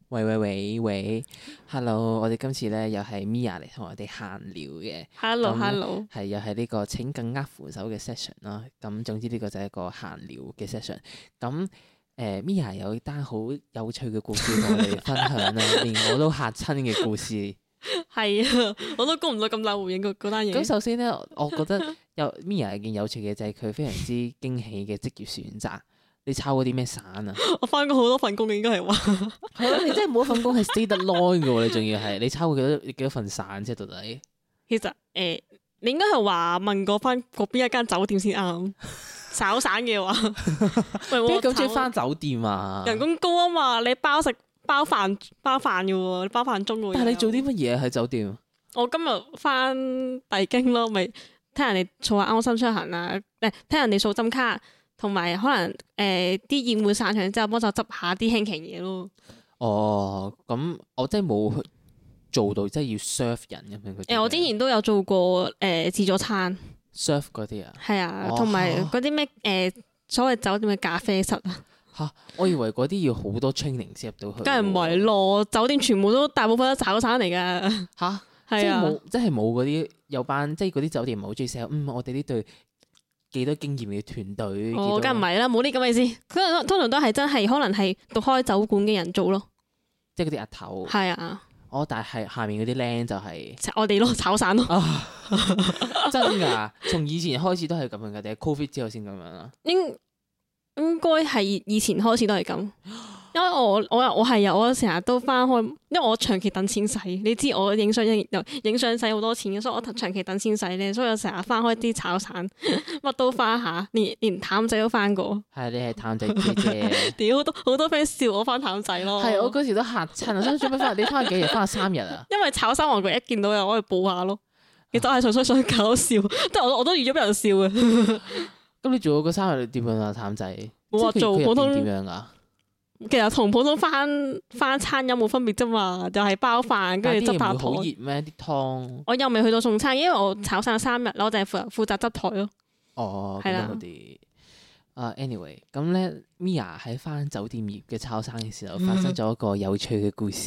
喂，Hello！我哋今次咧又係 Mia 嚟同我哋閒聊嘅。 Hello， 係又係呢個請更握扶手嘅 session 啦。咁總之呢個就係一個閒聊嘅 session。咁Mia 有單好有趣嘅故事同我哋分享啦，連我都嚇親嘅故事。 係啊，我都估唔到咁大回應嗰單嘢。 咁首先咧，我覺得Mia 有件有趣嘅就係佢非常之驚喜嘅職業選擇。你抄過啲咩散啊？ 我翻過好多份工嘅，應該係話係咯，你真係冇一份工係 stay 得耐嘅喎，你仲要係你抄過幾多份散啫？到底？ 其實你應該係話問過翻嗰邊一間酒店先啱。炒散嘅話， 邊咁中意翻酒店啊？ 人工高啊嘛，你包飯嘅喎，你包飯鐘嘅喎。 但係你做啲乜嘢喺酒店？ 我今日翻帝京咯，咪聽人哋做下安心出行啊，聽人哋掃針卡。同埋可能啲宴會散場之後，幫手執下啲輕型嘢咯。 哦，咁我真係冇做到，即係要 serve 人咁樣。 我之前都有做過自助餐 serve 嗰啲啊。 係啊，同埋嗰啲咩所謂酒店嘅咖啡室啊。 嚇！我以為嗰啲要好多 training 先入到去。 梗係唔係咯？酒店全部都大部分都炒散嚟㗎。 嚇！ 係啊， 即係冇嗰啲有班，即係嗰啲酒店唔係好中意 sell。我哋呢隊幾多經驗嘅團隊？ 梗係唔係啦，冇啲咁嘅事。通常都係真係可能係讀開酒館嘅人做咯。 即係嗰啲阿頭。係啊。 但係下面嗰啲靚就係我哋咯，炒散咯。 真㗎？從以前開始都係咁樣㗎，定係 Covid 之後先咁樣啊？ 應該係以前開始都係咁，因為我係我成日都翻開，因為我長期等錢使，你知我影相使好多錢嘅，所以我長期等錢使咧，所以我成日翻開啲炒散，乜都翻下，連淡仔都翻過。 係你係淡仔姐姐。 屌好多 friend 笑我翻淡仔咯。係我嗰時都嚇親啊！想做咩翻？你翻幾日？翻3日啊？ 因為炒散王國一見到又可以報下咯，其實我係純粹想搞笑，即係我都預咗俾人笑嘅。 咁你做咗嗰3日點樣啊？淡仔冇話做普通點樣啊？ 其實同普通翻餐有冇分別啫嘛，就係包飯跟住執下台。 好熱咩？啲湯我又未去到送餐，因為我炒散3日，我就係負責執台咯。 哦， 係啦。 anyway， 咁咧 Mia 喺翻酒店業嘅炒散嘅時候，發生咗一個有趣嘅故事。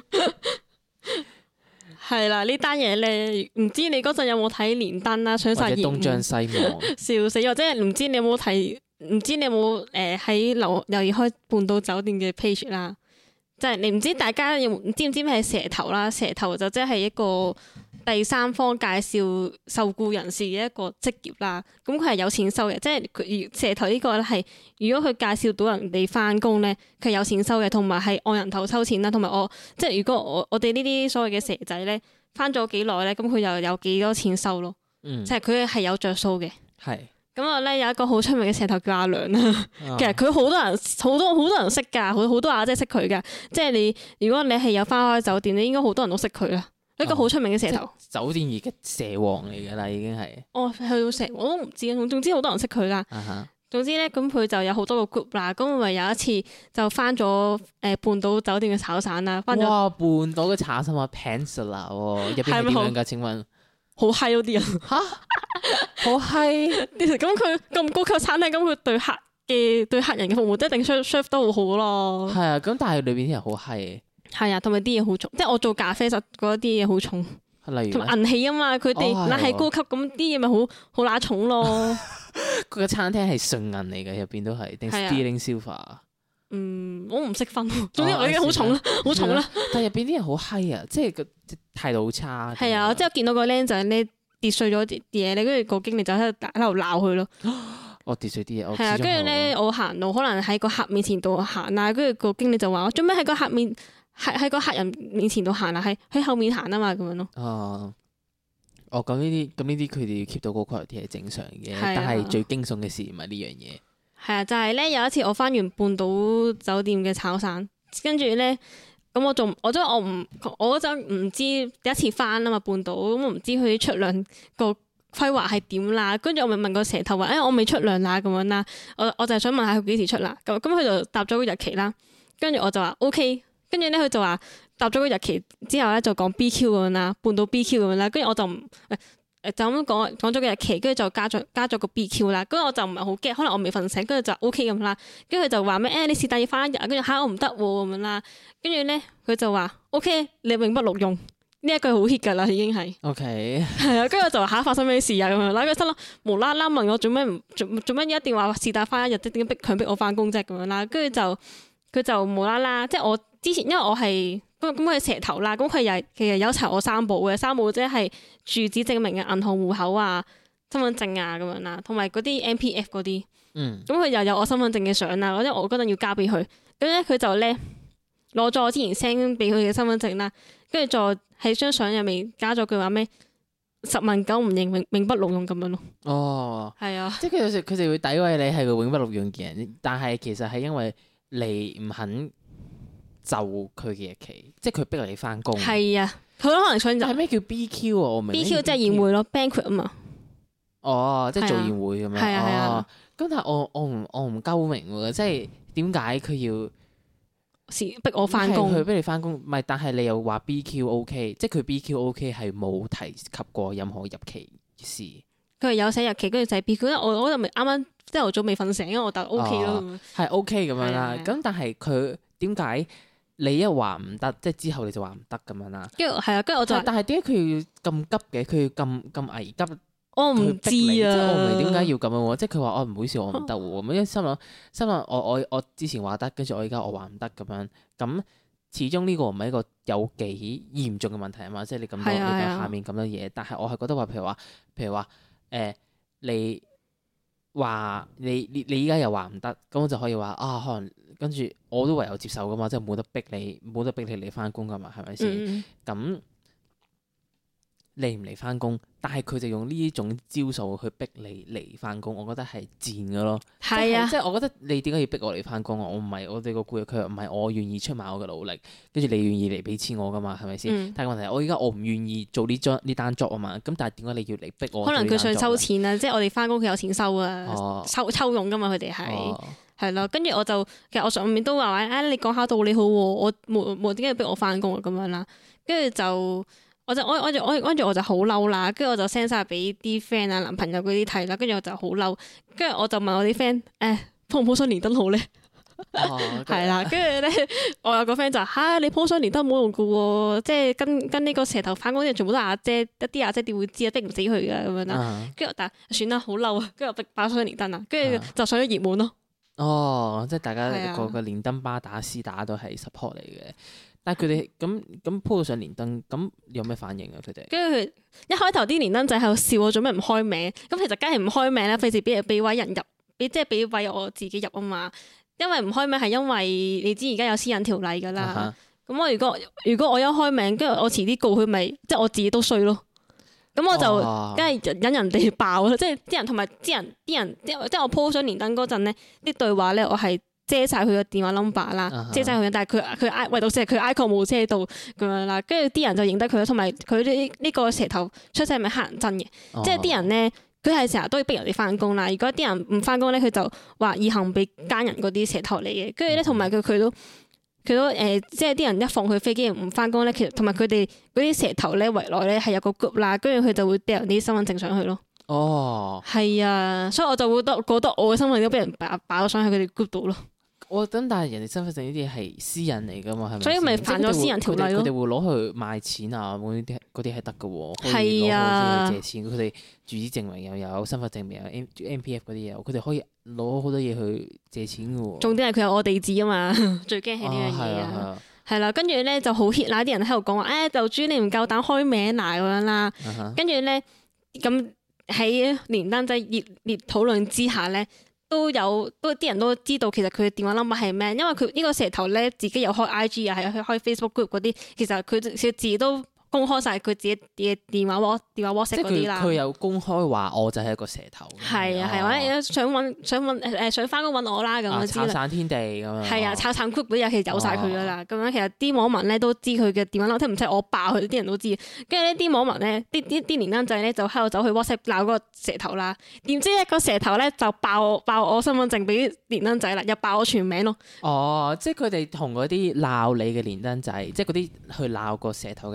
係啦，呢單嘢咧，唔知你嗰陣有冇睇連登啦，上晒熱門。 東張西望。笑死！或者唔知你有冇睇？唔知你有冇喺留意開半島酒店嘅 page 啦？即係你唔知大家知唔知咩係蛇頭啦？蛇頭就即係一個第三方介紹受僱人士嘅一個職業啦。咁佢係有錢收嘅，即係佢蛇頭呢個咧係如果佢介紹到人哋翻工咧，佢係有錢收嘅，同埋係按人頭收錢啦。同埋即係如果我哋呢啲所謂嘅蛇仔咧翻咗幾耐咧，咁佢又有幾多錢收咯？即係佢係有着數嘅。 係。 咁我咧有一個好出名嘅蛇頭叫阿良啦，其實佢好多人識㗎，好多阿姐識佢㗎。即係如果你係有翻開酒店，你應該好多人都識佢啦。一個好出名嘅蛇頭。 酒店業嘅蛇王嚟㗎啦，已經係。 去到蛇王我都唔知啊，總之好多人識佢啦。總之咧，咁佢就有好多個 group 啦。咁咪有一次就翻咗半島酒店嘅炒散啦。哇！ 半島嘅炒散啊 Peninsula 喎，入邊係點樣㗎？請問？ 好嗨嗰啲人嚇！好嗨！ 咁佢咁高級餐廳，咁佢對客人嘅服務都一定 serve 得好好咯。 係啊，咁但係裏邊啲人好嗨嘅。 係啊，同埋啲嘢好重，即係我做咖啡室嗰啲嘢好重。 例如同埋銀器啊嘛，佢哋嗱係高級，咁啲嘢咪好乸重咯。 佢個餐廳係純銀嚟嘅，入邊都係定 sterling silver。 我唔識分，總之我已經好重啦，好重啦。 但係入邊啲人好嗨啊，即係個態度好差。 係啊，即係見到個僆仔咧跌碎咗啲嘢咧，跟住個經理就喺度鬧佢咯。 我跌碎啲嘢， 係啊，跟住咧我行路可能喺個客面前度行啊，跟住個經理就話：我做咩喺個客人面前度行啊？喺後面行啊嘛，咁樣咯。 咁呢啲佢哋 keep 到個 quality 係正常嘅，但係最驚悚嘅事唔係呢樣嘢。係啊，就係咧有一次我翻完半島酒店嘅炒散，跟住咧咁我嗰陣唔知第一次翻啊嘛半島，咁我唔知佢出糧個規劃係點啦。跟住我咪問個蛇頭話：我未出糧啦咁樣啦。我就係想問下佢幾時出啦。咁佢就答咗個日期啦。跟住我就話 OK。跟住咧佢就話答咗個日期之後咧就講 BQ 咁樣啦，半島 BQ 咁樣啦。跟住我就就咁講咗個日期，跟住就加咗個 BQ 啦。跟住我就唔係好驚，可能我未瞓醒，跟住就 OK 咁啦。跟住佢就話咩你是但要翻一日，跟住嚇我唔得喎咁樣啦。跟住咧佢就話 OK， 你永不錄用呢一句好 hit 㗎啦，已經係。 OK。 係啊，跟住我就話發生咩事啊咁樣啦。跟住心諗無啦啦問我做咩一定話是但翻一日，即點解強迫我翻工啫咁樣啦。跟住佢就無啦啦，即係我之前因為我係。咁佢係蛇頭啦，咁佢其實有查我三寶嘅，三寶即係住址證明嘅銀行戶口啊、身份證啊咁樣啦，同埋嗰啲 MPF 嗰啲。咁佢又有我身份證嘅相啦，因為我嗰陣要交俾佢，咁咧佢就咧攞咗我之前 send 俾佢嘅身份證啦，跟住再喺張相入面加咗句話咩10問9唔認永不錄用咁樣咯。 哦， 係啊， 即係佢哋會詆毀你係個永不錄用嘅人，但係其實係因為你唔肯就佢嘅日期，即係佢逼你翻工。係啊，佢可能想就係咩叫 BQ 啊？我明 BQ 即係宴會咯 ，banquet 啊嘛。 哦，即係做宴會咁樣。 係啊。 咁但係我唔鳩明喎，即係點解佢要逼我翻工？ 佢逼你翻工，唔係，但係你又話 BQ OK， 即係佢 BQ OK 係冇提及過任何入期事。佢係有寫日期，跟住就係 BQ，因為我嗰陣咪啱啱朝頭早未瞓醒，因為我就 OK 咯。 係 OK 咁樣啦，咁但係佢點解？你一話唔得，即係之後你就話唔得咁樣啦。跟住係啊，跟住我就但係點解佢要咁急嘅？佢要咁危急？ 我唔知啊，即係我唔明點解要咁樣喎。即係佢話唔好意思，我唔得喎。咁因為心諗我之前話得，跟住我而家我話唔得咁樣。咁始終呢個唔係一個有幾嚴重嘅問題啊嘛。即係你咁多你下面咁多嘢，但係我係覺得話，譬如話你話你依家又話唔得，咁我就可以話可能。跟住我都唯有接受噶嘛，即係冇得逼你嚟翻工噶嘛，係咪先？咁嚟唔嚟翻工？但係佢就用呢種招數去逼你嚟翻工，我覺得係賤噶咯。係啊，即係我覺得你點解要逼我嚟翻工啊？我唔係我哋個僱佢唔係我願意出賣我嘅努力，跟住你願意嚟俾錢我噶嘛，係咪先？但係問題我而家我唔願意做呢單 job 啊嘛，咁但係點解你要嚟逼我？可能佢想收錢啊，即係我哋翻工佢有錢收啊，抽佣噶嘛，佢哋係。係咯，跟住我就其實我上面都話你講下道理好喎，我冇點解要逼我翻工啊咁樣啦，跟住就我就好嬲啦，跟住我就 send 晒俾啲 friend 啊男朋友嗰啲睇啦，跟住我就好嬲，跟住我就問我啲 friend 鋪唔鋪雙連燈好咧？係啦，跟住咧我有個 friend 就你鋪雙連燈冇用噶喎，即係跟呢個蛇頭翻工啲人全部都係阿姐，一啲阿姐點會知啊？逼唔死佢噶咁樣啦，跟住但係算啦，好嬲啊，跟住我爆雙連燈啊，跟住就上咗熱門咯。即係大家個連登巴打絲打都係 support 嚟嘅，但係佢哋咁鋪到上連登，咁有咩反應啊？佢哋跟住佢一開頭啲連登仔喺度笑我做咩唔開名，咁其實梗係唔開名啦，費事俾位人入，即係俾位我自己入啊嘛。因為唔開名係因為你知而家有私隱條例噶啦，咁我如果我一開名，跟住我遲啲告佢，咪即係我自己都衰咯。咁我就梗係引人哋爆啦，即係啲人同埋啲人，即係我 po 上連登嗰陣咧，啲對話咧我係遮晒佢個電話 number 啦，遮晒佢，但係佢唯獨係佢 icon 冇遮到咁樣啦，跟住啲人就認得佢啦，同埋佢呢個蛇頭出世係咪黑人憎嘅？即係啲人咧，佢係成日都要逼人哋翻工啦。如果啲人唔翻工咧，佢就話以後俾奸人嗰啲蛇頭嚟嘅。跟住咧，同埋佢都即係啲人一放佢飛機唔翻工咧，其實同埋佢哋嗰啲蛇頭咧圍內咧係有個 group 啦，跟住佢就會掉人啲身份證上去咯。係啊，所以我就會覺得我嘅身份證都俾人擺咗上去佢哋 group 度咯。但係人哋身份證呢啲係私隱嚟噶嘛，係咪？所以咪犯咗私人條例咯。佢哋會攞去賣錢啊，嗰啲係得噶喎。係啊，可以攞去借錢。佢哋住址證明又有，身份證明有 MPF 嗰啲嘢，佢哋可以攞好多嘢去借錢噶喎。重點係佢有我地址啊嘛，最驚係呢樣嘢啊。係啦，跟住咧就好 hit 啦，啲人喺度講話，就豬你唔夠膽開名嗱咁樣啦。跟住咧咁喺連登仔熱烈討論之下咧。都啲人都知道其實佢嘅電話 number 係咩，因為佢呢個蛇頭咧自己有開 IG 啊，係開 Facebook group 嗰啲，其實佢自己都公開晒佢自己嘅電話 WhatsApp 嗰啲啦。佢有公開話我就係一個蛇頭。係啊係，或者想翻工揾我啦咁樣之類。炒散天地咁樣。係啊，炒散 group 嗰啲其實有晒佢噶啦，咁樣其實啲網民咧都知佢嘅電話 number，即係唔使我爆佢，啲人都知。跟住呢啲網民咧，啲連登仔咧就喺度走去 WhatsApp 鬧嗰個蛇頭啦。點知一個蛇頭咧就爆我身份證俾連登仔啦，又爆我全名咯。即係佢哋同嗰啲鬧你嘅連登仔，即係嗰啲去鬧個蛇頭嘅連登仔。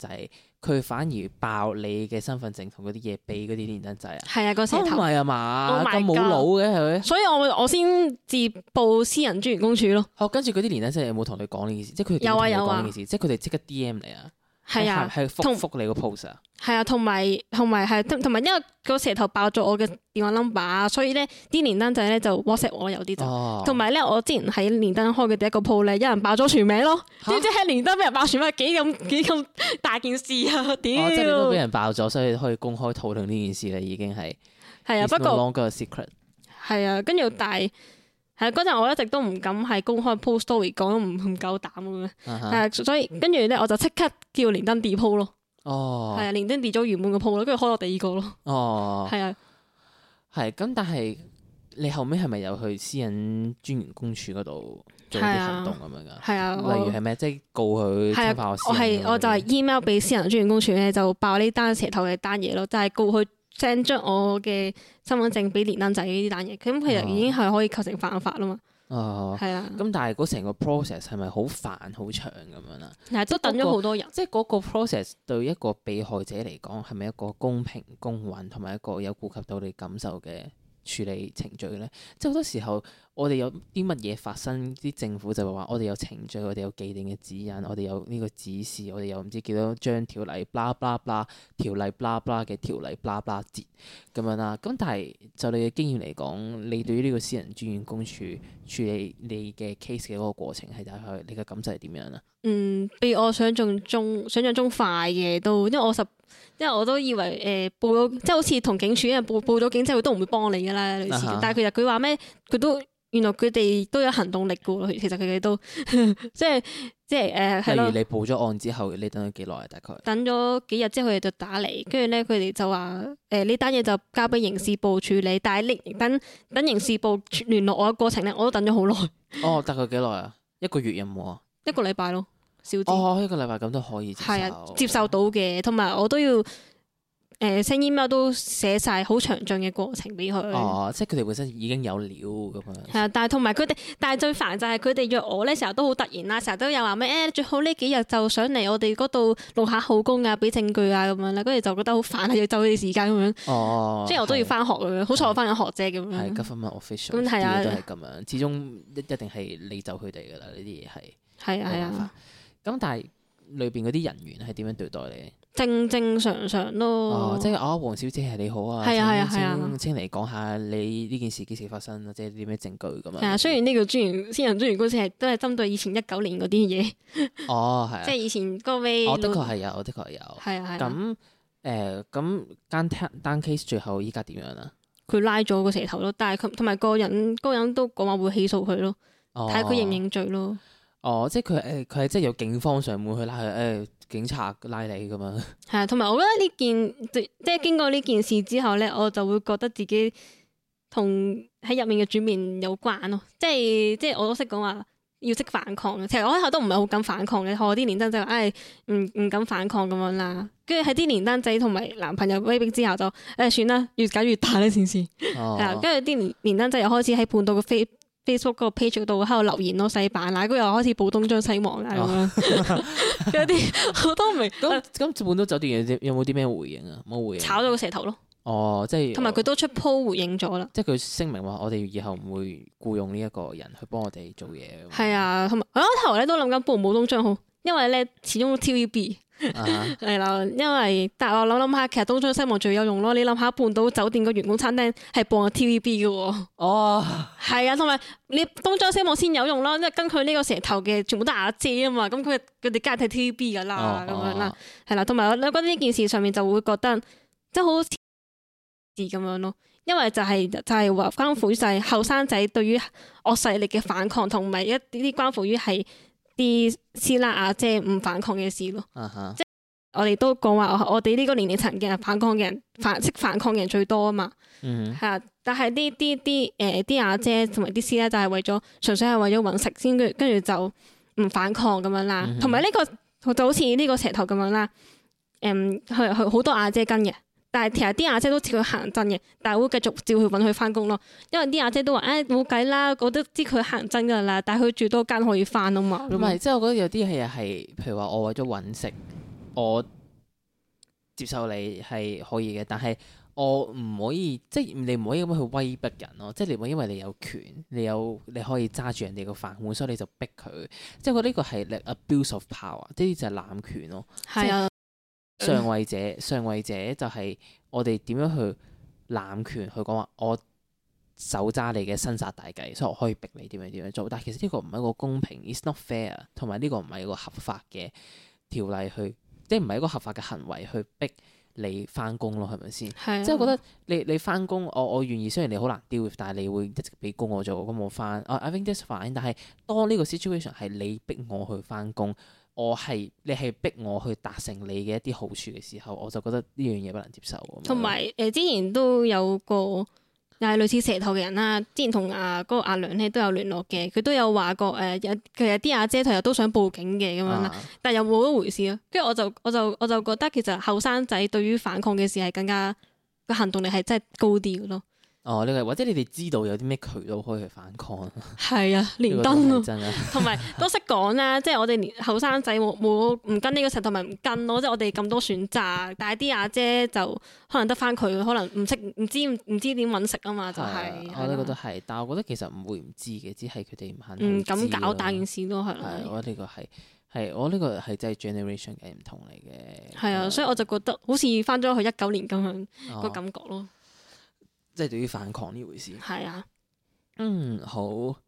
係佢反而爆你嘅身份證同嗰啲嘢俾嗰啲連登仔啊。 係啊，個蛇頭。 唔係啊嘛， Oh my 咁冇腦嘅係咪？ 所以我先至報私人專員公署咯。 跟住嗰啲連登仔有冇同你講呢件事？即係佢哋點同你講呢件事？即係佢哋即刻 DM 你啊？ 係啊， 係覆你個 post 啊？ 係啊，同埋因為個蛇頭爆咗我嘅電話 number 啊，所以咧啲連登仔咧就 WhatsApp 我有啲就，同埋咧我之前喺連登開嘅第一個鋪咧，有人爆咗全名咯，知唔知喺連登俾人爆全名幾咁大件事啊？屌！ 即係你都俾人爆咗，所以可以公開討論呢件事啦，已經係。 係啊，不過 no longer a secret。 係啊，跟住但係嗰陣我一直都唔敢係公開 post story 講，唔夠膽咁樣。所以跟住咧我就即刻叫連登 delete 鋪咯。係啊，連登 delete 咗原本個鋪咯，跟住開咗第二個咯。係啊， 係咁，但係你後尾係咪有去私隱專員公署嗰度做啲行動咁樣㗎？係啊，例如係咩？即係告佢侵犯我私隱。 我就係 email 俾私人專員公署咧，就爆呢單蛇頭嘅單嘢咯，就係告佢 send 咗我嘅身份證俾連登仔呢單嘢，咁其實已經係可以構成犯法啦嘛。係啊。咁但係嗰成個 process 係咪好煩好長咁樣啦？ 係都等咗好多人。 即係嗰個 process 對一個被害者嚟講係咪一個公平公允同埋一個有顧及到你感受嘅處理程序咧？即係好多時候我哋有啲乜嘢發生，啲政府就話我哋有程序，我哋有既定嘅指引，我哋有呢個指示，我哋有唔知幾多張條例 blah blah blah 條例 blah blah 嘅條例 blah blah 節咁樣啦。咁但係就你嘅經驗嚟講，你對於呢個私人專員公署處理你嘅 case 嘅嗰個過程係大概你嘅感受係點樣啊？ 比我想象中快嘅都，因為我都以為報咗，即係好似同警署，因為報咗警之後佢都唔會幫你噶啦類似。但係其實佢話咩，佢都原來佢哋都有行動力噶喎。其實佢哋都即係係咯。例如你報咗案之後，你等咗幾耐啊？大概等咗幾日之後，佢哋就打嚟，跟住咧佢哋就話呢單嘢就交俾刑事部處理，但係等刑事部聯絡我嘅過程咧，我都等咗好耐。 大概幾耐啊？一個月有冇啊？1個禮拜咯，少啲。 1個禮拜咁都可以接受。 係啊，接受到嘅，同埋我都要send email 都寫晒好詳盡嘅過程俾佢。 即係佢哋本身已經有料咁樣。 係啊，但係同埋佢哋，但係最煩就係佢哋約我咧，成日都好突然啦，成日都有話咩最好呢幾日就上嚟我哋嗰度錄下口供啊，俾證據啊咁樣啦，跟住就覺得好煩啊，要就佢哋時間咁樣。即係我都要翻學咁樣，好彩我翻緊學啫咁樣。 係government official， 咁係啊， 都係咁樣，始終一定係你就佢哋噶啦，呢啲嘢係。 係啊。 咁但係裏邊嗰啲人員係點樣對待你？ 正常咯。 即係黃小姐係你好啊。 係啊。 請嚟講下你呢件事幾時發生，或者啲咩證據咁樣。 係啊，雖然呢個私人專員公署都係針對以前19年嗰啲嘢。 係啊。 即係以前嗰位。 的確係有。 係啊。 咁單 case 最後依家點樣啊？ 佢拉咗個蛇頭咯，但係佢同埋個人都講話會起訴佢咯，睇下佢認唔認罪咯。 即係佢係即係有警方上門去拉佢，警察拉你咁樣。係啊，同埋我覺得呢件即係經過呢件事之後咧，我就會覺得自己同喺入面嘅轉變有關咯。即係我都識講話要識反抗嘅。其實我開頭都唔係好敢反抗嘅，我啲連登仔話唔敢反抗咁樣啦。跟住喺啲連登仔同埋男朋友威逼之後就算啦，越搞越大呢件事。係啊，跟住啲連登仔又開始喺半島嘅Facebook 嗰個 page 度喺度留言咯，洗版啦，跟住又開始報東張西望啦咁樣，有啲我都唔明。 咁半島酒店有冇啲咩回應啊？冇回應。 炒咗個蛇頭咯。即係。同埋佢都出 po 回應咗啦。即係佢聲明話：我哋以後唔會僱用呢一個人去幫我哋做嘢。 係啊，同埋我開頭咧都諗緊報唔報東張好，因為咧始終 TVB。係啦，因為但係我諗下，其實東張西望最有用咯。你諗下，半島酒店個員工餐廳係播 TVB 嘅喎。係啊，同埋你東張西望先有用咯，因為跟佢呢個蛇頭嘅全部都係阿姐啊嘛，咁佢哋梗係睇 TVB 噶啦，咁樣啦，係啦，同埋我覺得呢件事上面就會覺得即係好似咁樣咯，因為就係話關乎於就係後生仔對於惡勢力嘅反抗，同埋一啲關乎於係。啲師奶阿姐唔反抗嘅事咯，即係我哋都講話，我哋呢個年齡層嘅反抗嘅人，識反抗嘅人最多啊嘛，係啊，但係啲阿姐同埋啲師奶就係為咗純粹係為咗揾食先，跟住就唔反抗咁樣啦，同埋呢個就好似呢個蛇頭咁樣啦，佢好多阿姐跟嘅。但係其實啲阿姐都似佢行真嘅，但係會繼續照去揾佢翻工咯。因為啲阿姐都話：冇計啦，我都知佢行真噶啦。但係佢住多間可以翻啊嘛。唔係， 即係我覺得有啲係譬如話我為咗揾食，我接受你係可以嘅，但係我唔可以，即係你唔可以咁樣去威逼人咯。即係你唔可以因為你有權，你可以揸住人哋個飯碗，所以你就逼佢。即係我覺得呢個係 abuse of power，即係就係濫權咯。 係啊， 上位者就係我哋點樣去濫權去講話，我手揸你嘅生殺大計，所以我可以逼你點樣做。但係其實呢個唔係一個公平 ，it's not fair，同埋呢個唔係一個合法嘅條例去，即係唔係一個合法嘅行為去逼你翻工咯，係咪先？ 係啊， 即係我覺得你翻工，我願意，雖然你好難 deal with，但係你會一直俾工我做，咁我翻，I think that's fine。但係當呢個 situation 係你逼我去翻工，你係逼我去達成你嘅一啲好處嘅時候，我就覺得呢樣嘢不能接受。 同埋之前都有個又係類似蛇頭嘅人啦，之前同嗰個阿娘咧都有聯絡嘅，佢都有話過其實啲阿姐佢又都想報警嘅咁樣啦，但係又冇一回事咯。跟住我就覺得其實後生仔對於反抗嘅事係更加個行動力係真係高啲嘅咯。 哦，呢個或者你哋知道有啲咩渠道可以去反抗？ 係啊，連登咯， 真啊， 同埋都識講啦，即係我哋連後生仔冇唔跟呢個石頭咪唔跟咯，即係我哋咁多選擇，但係啲阿姐就可能得翻佢，可能唔知點揾食啊嘛，就係。 我都覺得係，但係我覺得其實唔會唔知嘅，只係佢哋唔肯咁搞大件事咯，係咯。 我覺得呢個係我呢個係真係 generation 嘅唔同嚟嘅。 係啊，所以我就覺得好似翻咗去19年咁樣個感覺咯。 即係對於反抗呢回事。係啊。 好。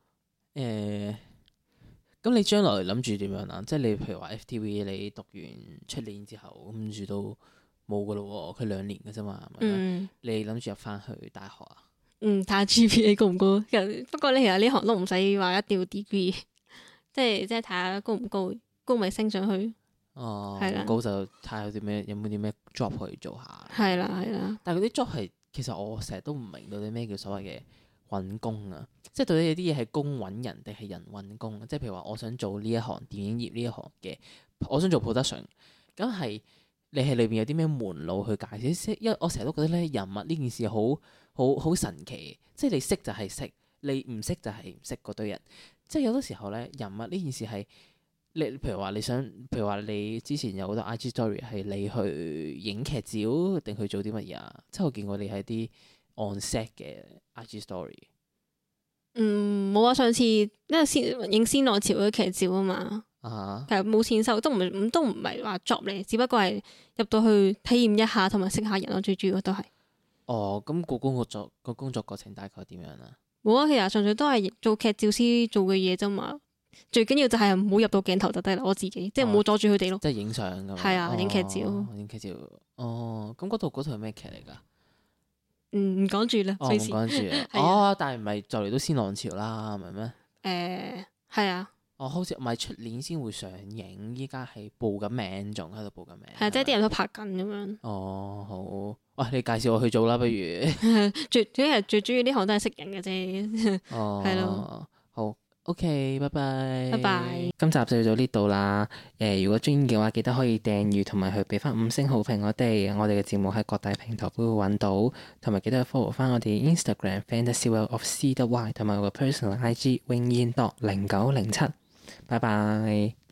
咁你將來諗住點樣啊？即係你譬如話 FTV，你讀完出年之後，跟住都冇噶咯喎，佢2年嘅啫嘛，係咪？你諗住入翻去大學啊？ 睇下 GPA 高唔高。不過你其實呢行都唔使話一定要 degree，即係睇下高唔高，高咪升上去。係啦。 高就睇下有冇啲咩 job 可以做下。 係啦。 但係嗰啲 job 係。其實我成日都唔明到底咩叫所謂嘅揾工啊，即係到底有啲嘢係工揾人定係人揾工啊？即係譬如話，我想做呢一行電影業呢一行嘅，我想做 production，咁係你係裏邊有啲咩門路去介紹？因為我成日都覺得咧，人物呢件事好神奇，即係你識就係識，你唔識就係唔識嗰堆人。即係有啲時候咧，人物呢件事係。譬如話你之前有好多 IG story 係你去影劇照定去做啲乜嘢啊？即係我見過你係啲 on set 嘅 IG story。 冇啊！上次因為影仙浪潮嗰啲劇照啊嘛，其實冇錢收，都唔係話 job 嚟，只不過係入到去體驗一下同埋識下人咯，最主要都係。 咁個工作過程大概點樣啊？ 冇啊，其實純粹都係做劇照師做嘅嘢啫嘛。最緊要就係唔好入到鏡頭就得啦，我自己即係唔好阻住佢哋咯。 即係影相咁。 係啊，影劇照。 影劇照。咁嗰套係咩劇嚟㗎？ 唔講住啦， 唔講住。但係唔係就嚟都仙浪潮啦，係咪咩？ 係啊。 好似唔係出年先會上映，依家係報緊名，仲喺度報緊名。 係即係啲人都拍緊咁樣。 好。喂，你介紹我去做啦，不如。 最主要呢行都係識人嘅啫。係咯。 好。OK，拜拜。 拜拜。 今集就到呢度啦。如果中意嘅話，記得可以訂閱同埋去俾翻5星好評我哋。我哋嘅節目喺各大平台都會揾到，同埋記得去 follow 翻我哋 Instagram fantasyworldofcy.y 同埋我個 personal IG wingyin.0907。拜拜。